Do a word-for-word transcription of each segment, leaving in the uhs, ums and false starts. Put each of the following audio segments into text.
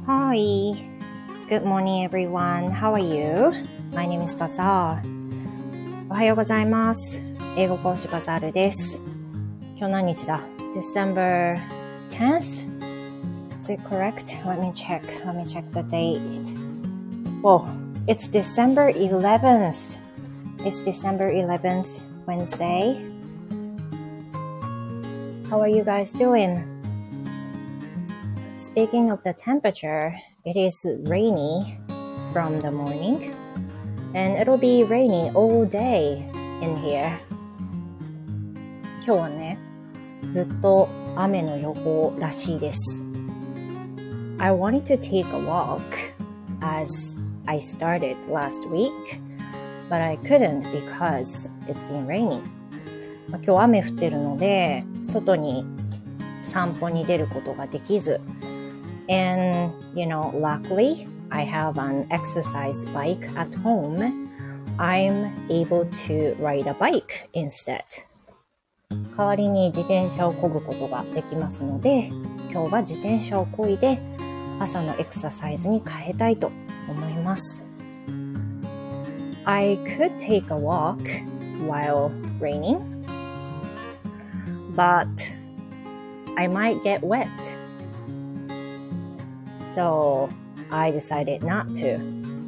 Hi, good morning everyone. How are you? My name is Bazaar. おはようございます。英語講師バザールです。今日何日だ ?December tenth? Is it correct? Let me check. Let me check the date. Well, it's December eleventh. It's December eleventh, Wednesday. How are you guys doing?Speaking of the temperature, it is rainy from the morning, and it'll be rainy all day in here. 今日はね、ずっと雨の予報らしいです。I wanted to take a walk as I started last week, but I couldn't because it's been raining. 今日雨降ってるので、外に散歩に出ることができず、And, you know, luckily, I have an exercise bike at home. I'm able to ride a bike instead. 代わりに自転車を漕ぐことができますので、今日は自転車を漕いで朝のエクササイズに変えたいと思います。I could take a walk while raining, but I might get wet.So, I decided not to.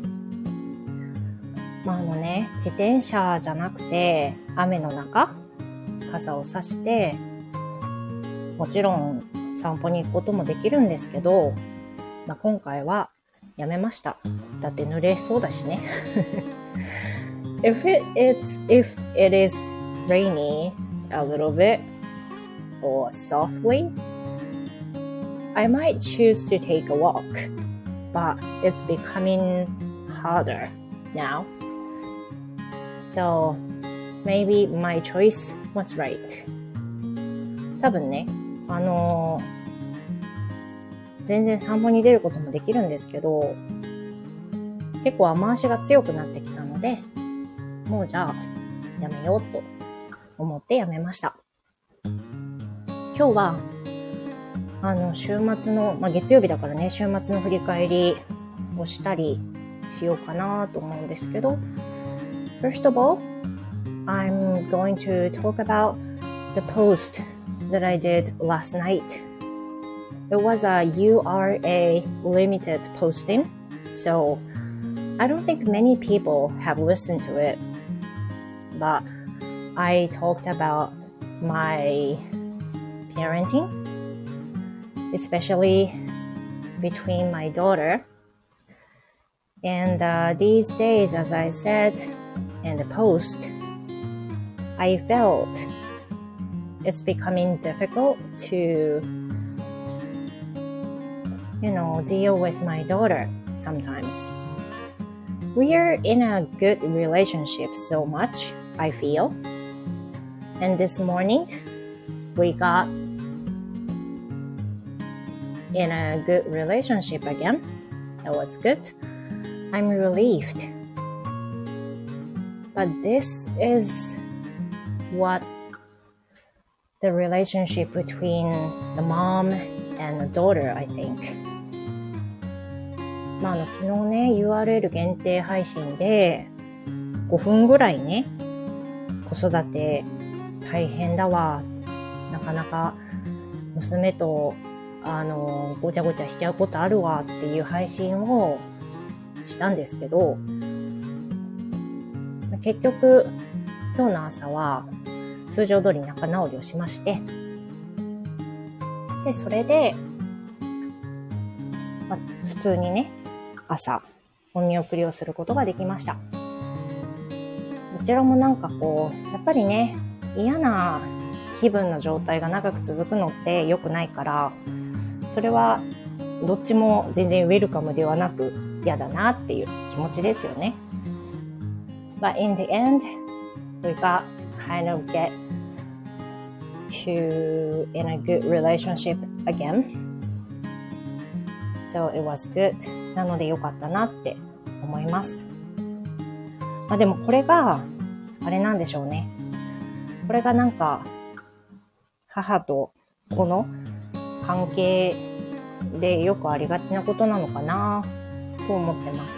まあ、あのね、自転車じゃなくて、雨の中、傘を差して、もちろん散歩に行くこともできるんですけど、まあ、今回はやめました。だって濡れそうだしね。if it, it's, if it is rainy a little bit or softly,I might choose to take a walk, but it's becoming harder now. So maybe my choice was right. 多分ね、あのー、全然散歩に出ることもできるんですけど、結構雨足が強くなってきたので、もうじゃあやめようと思ってやめました。今日はあの、週末の、まあ、月曜日だからね、週末の振り返りをしたりしようかなと思うんですけど、First of all, I'm going to talk about the post that I did last night. It was a U R A limited posting, so I don't think many people have listened to it, but I talked about my parenting,especially between my daughter. And uh, these days, as I said in the post, I felt it's becoming difficult to, you know, deal with my daughter sometimes. We are in a good relationship so much, I feel. And this morning, we got...in a good relationship again. That was good. I'm relieved. But this is what the relationship between the mom and the daughter, I think. まあ、あの昨日ね ユーアールエル 限定配信でごふんぐらいね、子育て大変だわ。なかなか娘とあの、ごちゃごちゃしちゃうことあるわっていう配信をしたんですけど、結局、今日の朝は通常通り仲直りをしまして、で、それで、まあ、普通にね、朝、お見送りをすることができました。どちらもなんかこう、やっぱりね、嫌な気分の状態が長く続くのって良くないから、それはどっちも全然ウェルカムではなく嫌だなっていう気持ちですよね。But in the end, we got kind of get to in a good relationship again. So it was good. なので良かったなって思います。まあでもこれがあれなんでしょうね。これがなんか母と子の関係でよくありがちなことなのかなと思ってます。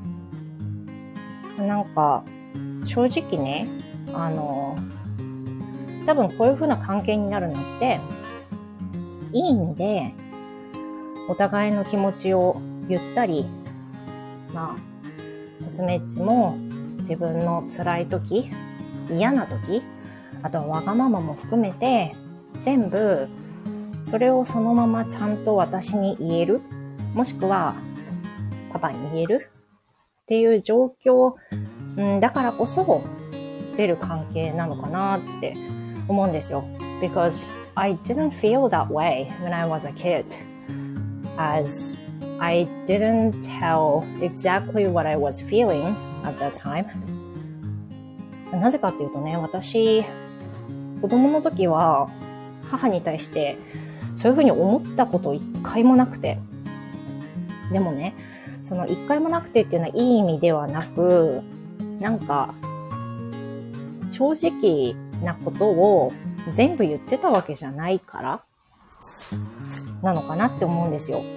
なんか正直ね、あの多分こういう風な関係になるのっていい意味でお互いの気持ちを言ったり、まあ娘っちも自分の辛い時、嫌な時、あとはわがままも含めて全部それをそのままちゃんと私に言える、もしくはパパに言えるっていう状況、うん、だからこそ出る関係なのかなって思うんですよ。Because I didn't feel that way when I was a kid, as I didn't tell exactly what I was feeling at that time. なぜかっていうとね、私子供の時は母に対してそういうふうに思ったこと一回もなくて、でもね、その一回もなくてっていうのはいい意味ではなく、なんか正直なことを全部言ってたわけじゃないからなのかなって思うんですよ。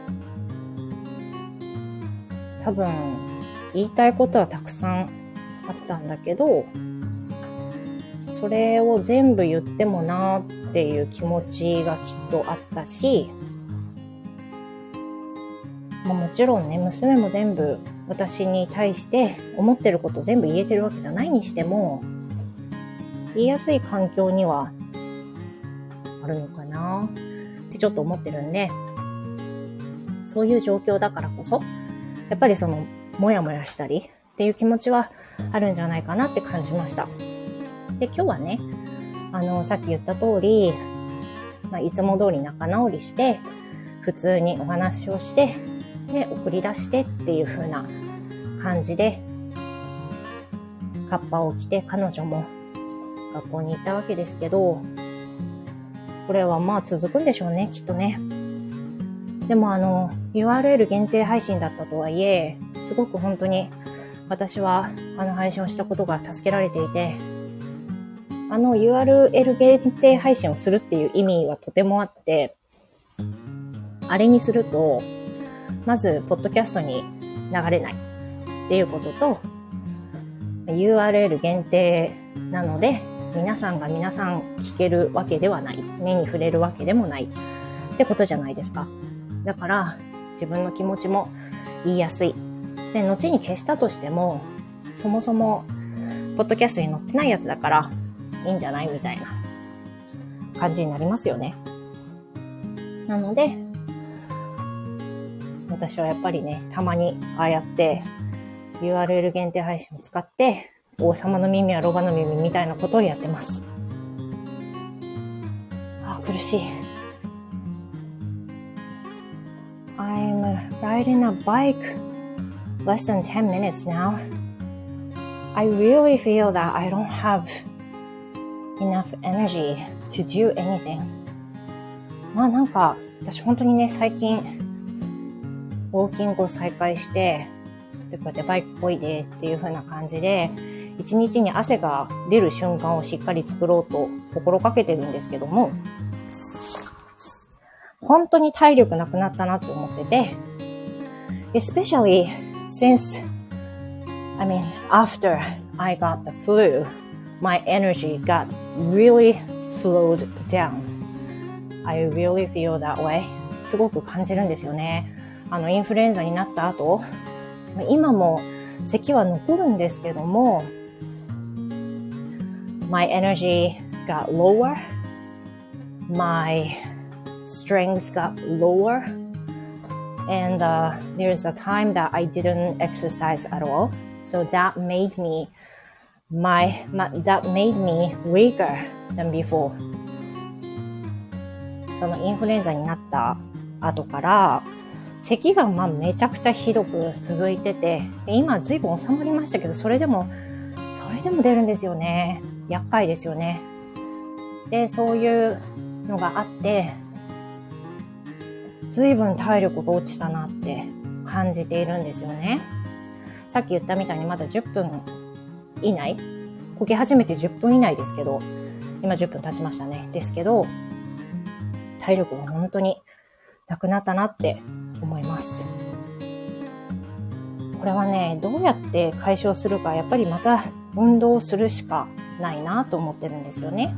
多分言いたいことはたくさんあったんだけど、それを全部言ってもなーっていう気持ちがきっとあったし、まあ、もちろんね、娘も全部私に対して思ってること全部言えてるわけじゃないにしても、言いやすい環境にはあるのかなってちょっと思ってるんで、そういう状況だからこそやっぱりそのもやもやしたりっていう気持ちはあるんじゃないかなって感じました。で、今日はね、あのさっき言った通り、まあ、いつも通り仲直りして普通にお話をしてで送り出してっていう風な感じでカッパを着て彼女も学校に行ったわけですけど、これはまあ続くんでしょうね、きっとね。でもあの ユーアールエル 限定配信だったとはいえ、すごく本当に私はあの配信をしたことが助けられていて、あの ユーアールエル 限定配信をするっていう意味はとてもあって、あれにするとまずポッドキャストに流れないっていうことと、 ユーアールエル 限定なので皆さんが皆さん聞けるわけではない、目に触れるわけでもないってことじゃないですか。だから自分の気持ちも言いやすいで、後に消したとしてもそもそもポッドキャストに載ってないやつだからいいんじゃないみたいな感じになりますよね。なので私はやっぱりね、たまにああやって ユーアールエル 限定配信を使って王様の耳はロバの耳みたいなことをやってます。あ、苦しい。I'm riding a bike less than ten minutes now. I really feel that I don't have enough energy to do anything. まあなんか私本当にね、最近ウォーキングを再開してでこうやってバイクこいでっていう風な感じで一日に汗が出る瞬間をしっかり作ろうと心がけてるんですけども、本当に体力なくなったなと思ってて、 especially since I mean after I got the flu, my energy got really slowed down. I really feel that way. すごく感じるんですよね。あのインフルエンザになった後、今も咳は残るんですけども、my energy got lower, my strength got lower, and uh, there's a time that I didn't exercise at all, so that made me my, my that made me weaker than before. そのインフルエンザになった後から咳がまあめちゃくちゃひどく続いてて、今ずいぶん収まりましたけど、それでもそれでも出るんですよね。厄介ですよね。で、そういうのがあってずいぶん体力が落ちたなって感じているんですよね。さっき言ったみたいにまだじゅっぷん以内、こき始めてじゅっぷん以内ですけど、今じゅっぷん経ちましたね。ですけど体力が本当になくなったなって思います。これはね、どうやって解消するか、やっぱりまた運動をするしかないなと思ってるんですよね。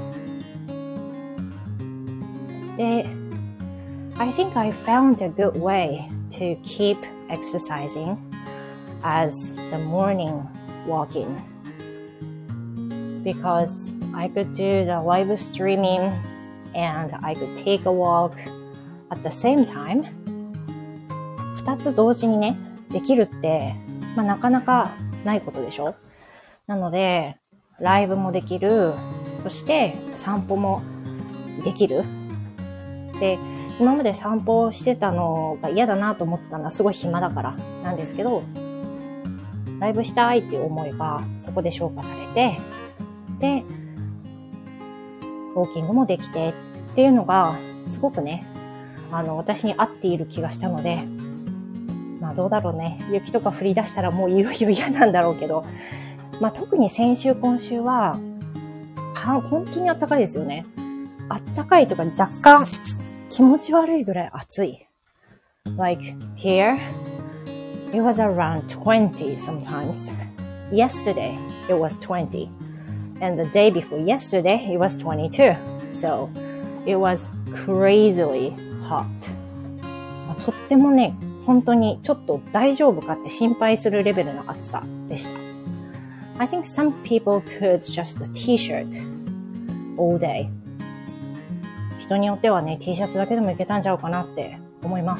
で、I think I found a good way to keep exercising as the morning walking because I could do the live streaming and I could take a walk at the same time. 二つ同時にね、できるって、まあ、なかなかないことでしょ。なので、ライブもできる、そして散歩もできる。で、今まで散歩してたのが嫌だなと思ったのはすごい暇だからなんですけど、ライブしたいっていう思いがそこで消化されて、で、ウォーキングもできてっていうのがすごくね、あの、私に合っている気がしたので、まあどうだろうね。雪とか降り出したらもういよいよ嫌なんだろうけど、まあ特に先週今週は、は本当に暖かいですよね。暖かいとか若干気持ち悪いぐらい暑い。Like here, it was around twenty sometimes. Yesterday, it was twenty. And the day before yesterday, it was twenty-two. So, it was crazily hot. とってもね、本当にちょっと大丈夫かって心配するレベルの暑さでした。I think some people could just a t-shirt all day. 人によってはね、T シャツだけでもいけたんちゃうかなって思います。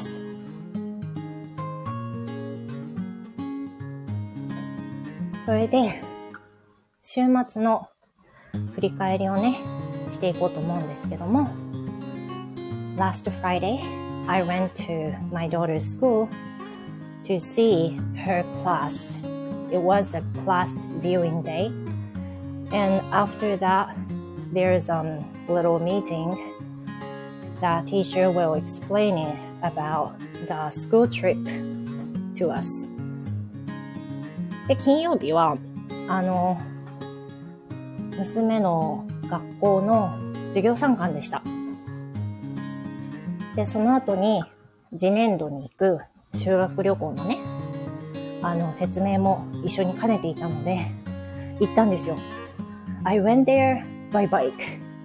それで、週末の振り返りをね、していこうと思うんですけども、Last Friday, I went to my daughter's school to see her class. It was a class viewing day. And after that, there's a little meeting. The teacher will explain it about the school trip to us. で、金曜日は、あの、娘の学校の授業参観でした。で、その後に次年度に行く修学旅行のね、あの、説明も一緒に兼ねていたので、行ったんですよ。I went there by bike.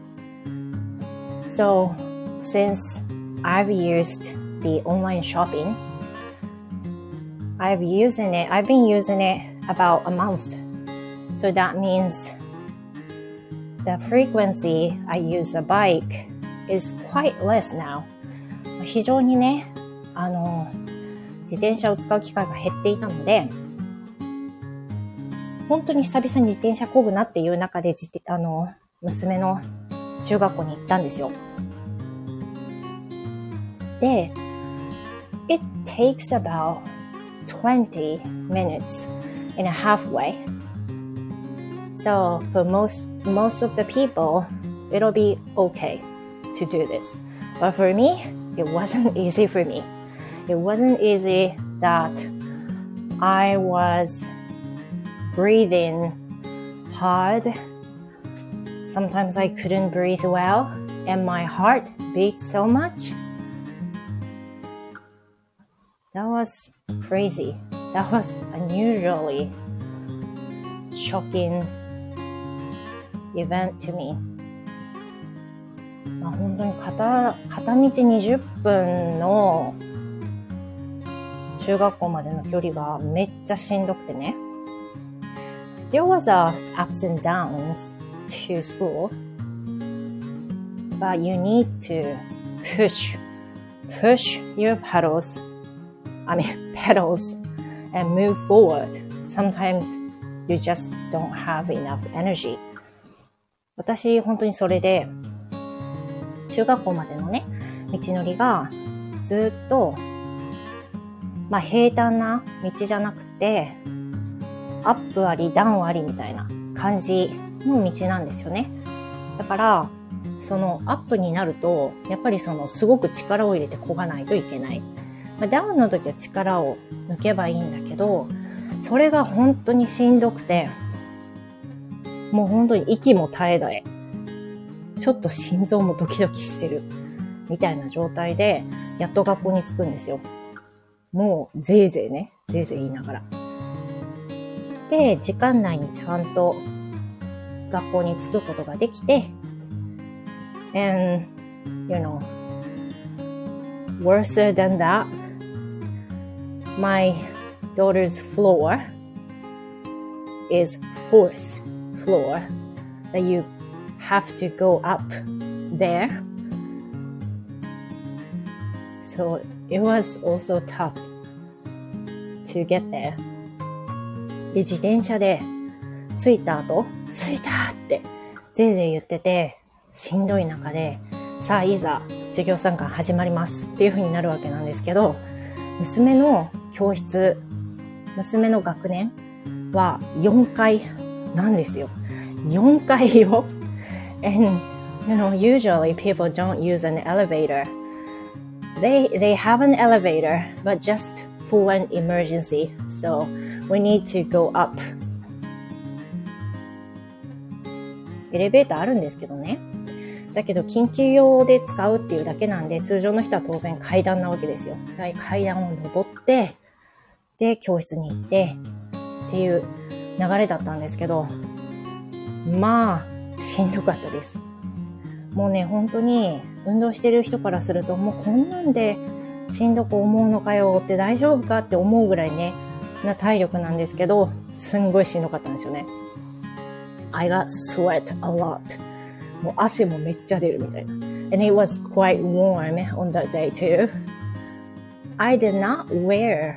So, since I've used the online shopping, I've using it, I've been using it about a month. So that means the frequency I use a bike is quite less now. 非常にね、あの、自転車を使う機会が減っていたので、本当に久々に自転車漕ぐなっていう中で、あの、娘の中学校に行ったんですよ。で、it takes about twenty minutes in a halfway. So for most, most of the people, it'll be okay to do this. But for me, it wasn't easy for me. It wasn't easy that I was breathing hard. Sometimes I couldn't breathe well, and my heart beat so much. That was crazy. That was unusually shocking event to me. まあ、本当に片、片道にじゅっぷんの中学校までの距離がめっちゃしんどくてね。There was a ups and downs to school, but you need to push, push your pedals, I mean pedals, and move forward. Sometimes you just don't have enough energy. 私本当にそれで中学校までのね道のりがずっとまあ平坦な道じゃなくてアップありダウンありみたいな感じの道なんですよね。だからそのアップになるとやっぱりそのすごく力を入れて漕がないといけない。まあ、ダウンの時は力を抜けばいいんだけど、それが本当にしんどくて、もう本当に息も絶え絶え。ちょっと心臓もドキドキしてるみたいな状態で、やっと学校に着くんですよ。もう、ぜいぜいね。ぜいぜい言いながら。で、時間内にちゃんと学校に着くことができて、and, you know, worse than that, my daughter's floor is fourth floor that you have to go up there. So it was also tough to get there. で、自転車で着いた後、着いたってぜいぜい言ってて、しんどい中で、さあいざ授業参観始まりますっていう風になるわけなんですけど、娘の教室、娘の学年はよんかいなんですよ。よんかいよ。And, you know, usually people don't use an elevator. They, they have an elevator, but just for an emergency. So we need to go up. エレベーターあるんですけどね。だけど緊急用で使うっていうだけなんで、通常の人は当然階段なわけですよ。階段を登って、で、教室に行って、っていう流れだったんですけど、まあ、しんどかったです。もうね、本当に運動してる人からすると、もうこんなんでしんどく思うのかよって大丈夫かって思うぐらいね、な体力なんですけど、すんごいしんどかったんですよね。I got sweat a lot. もう汗もめっちゃ出るみたいな。And it was quite warm on that day too. I did not wear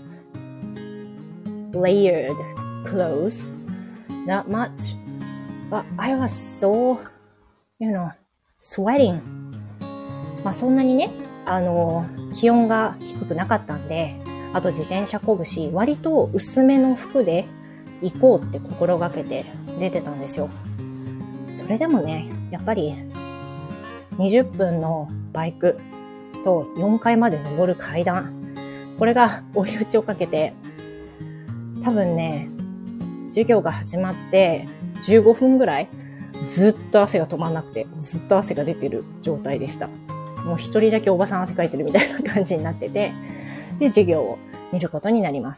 layered clothes that much, but I was so, you know, sweating. まあそんなにね、あの、気温が低くなかったんで、あと自転車こぐし、割と薄めの服で行こうって心がけて出てたんですよ。それでもね、やっぱりにじゅっぷんのバイクとよんかいまで登る階段、これが追い打ちをかけて、多分ね、授業が始まってじゅうごふんぐらいずっと汗が止まんなくて、ずっと汗が出てる状態でした。もう一人だけおばさん汗かいてるみたいな感じになってて、で、授業を見ることになります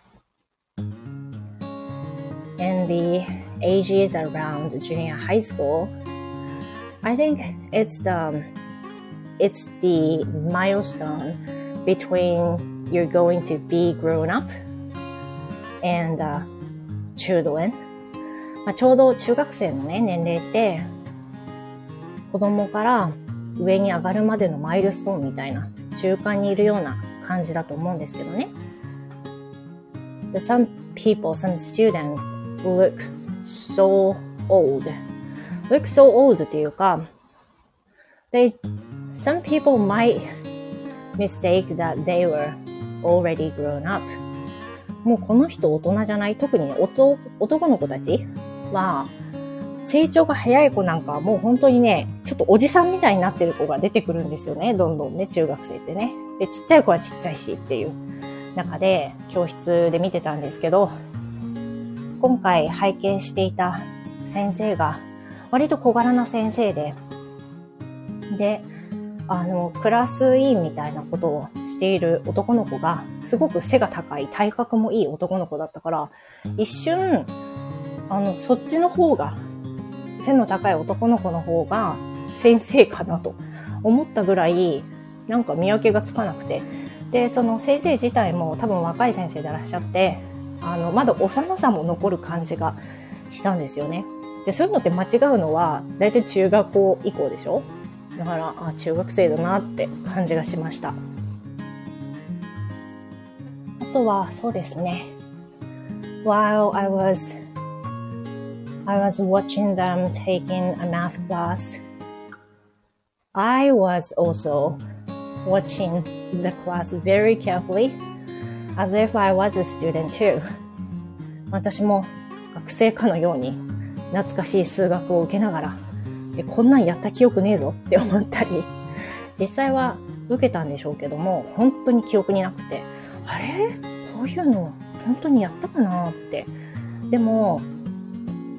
。And the ages around junior high school, I think it's the, it's the milestone between you're going to be grown up and uh, children. まあ、ちょうど中学生のね、年齢って、子供から上に上がるまでのマイルストーンみたいな、中間にいるような感じだと思うんですけどね。Some people, some students look so old. Look so old っていうか、they, some people might mistake that they were already grown up. もうこの人大人じゃない？特に、ね、男, 男の子たちは、成長が早い子なんかはもう本当にね、ちょっとおじさんみたいになってる子が出てくるんですよね。どんどんね、中学生ってね。で、ちっちゃい子はちっちゃいしっていう中で、教室で見てたんですけど、今回拝見していた先生が、割と小柄な先生で、で、あの、クラス委員みたいなことをしている男の子が、すごく背が高い、体格もいい男の子だったから、一瞬、あの、そっちの方が、背の高い男の子の方が先生かなと思ったぐらい、なんか見分けがつかなくて。で、その先生自体も多分若い先生でいらっしゃって、あの、まだ幼さも残る感じがしたんですよね。で、そういうのって間違うのは、だいたい中学校以降でしょ？だから、あ、中学生だなって感じがしました。あとは、そうですね。While I was, I was watching them taking a math class, I was also watching the class very carefully, as if I was a student too. 私も学生かのように懐かしい数学を受けながら、え、こんなんやった記憶ねえぞって思ったり、実際は受けたんでしょうけども、本当に記憶になくて、あれ？こういうの本当にやったかなって。でも、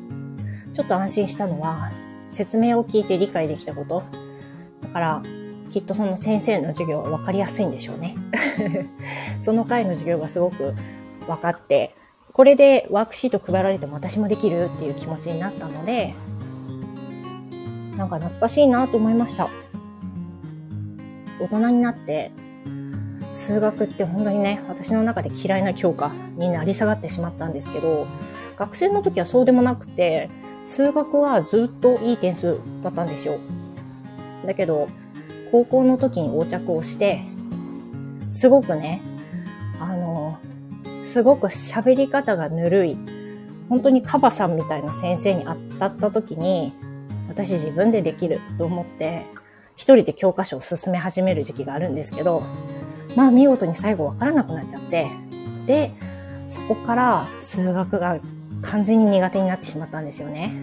ちょっと安心したのは、説明を聞いて理解できたこと。だから、 きっとその先生の授業は分かりやすいんでしょうね。その回の授業がすごく分かって、これでワークシート配られても私もできるっていう気持ちになったので、なんか懐かしいなと思いました。大人になって数学って本当にね、私の中で嫌いな教科になり下がってしまったんですけど、学生の時はそうでもなくて、数学はずっといい点数だったんですよ。だけど高校の時に横着をして、すごくね、あのすごく喋り方がぬるい、本当にカバさんみたいな先生に当たった時に、私自分でできると思って一人で教科書を進め始める時期があるんですけど、まあ見事に最後わからなくなっちゃって、でそこから数学が完全に苦手になってしまったんですよね。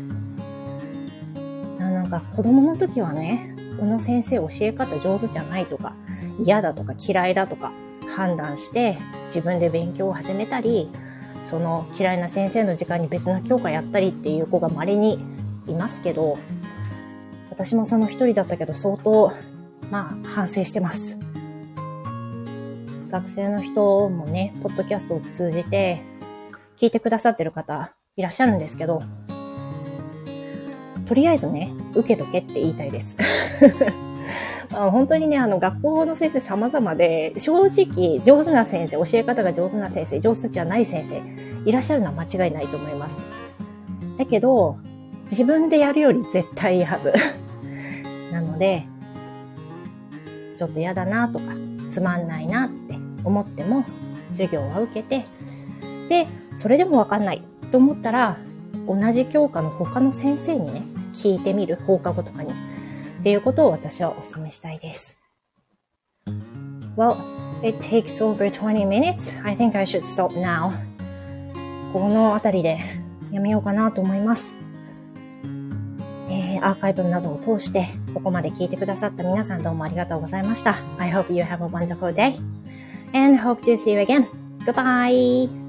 なんか子供の時はね、この先生教え方上手じゃないとか、嫌だとか嫌いだとか判断して自分で勉強を始めたり、その嫌いな先生の時間に別の教科やったりっていう子が稀にいますけど、私もその一人だったけど相当まあ反省してます。学生の人もね、ポッドキャストを通じて聞いてくださってる方いらっしゃるんですけど、とりあえずね、受けとけって言いたいです。あ本当にね、あの学校の先生様々で、正直上手な先生、教え方が上手な先生、上手じゃない先生いらっしゃるのは間違いないと思います。だけど自分でやるより絶対いいはず。なので、ちょっと嫌だなとかつまんないなって思っても授業は受けて、でそれでもわかんないと思ったら同じ教科の他の先生にね聞いてみる、放課後とかにっていうことを私はお勧めしたいです。Well, it takes over twenty minutes. I think I should stop now. このあたりでやめようかなと思います。えー、アーカイブなどを通してここまで聞いてくださった皆さん、どうもありがとうございました。I hope you have a wonderful day and hope to see you again. Goodbye!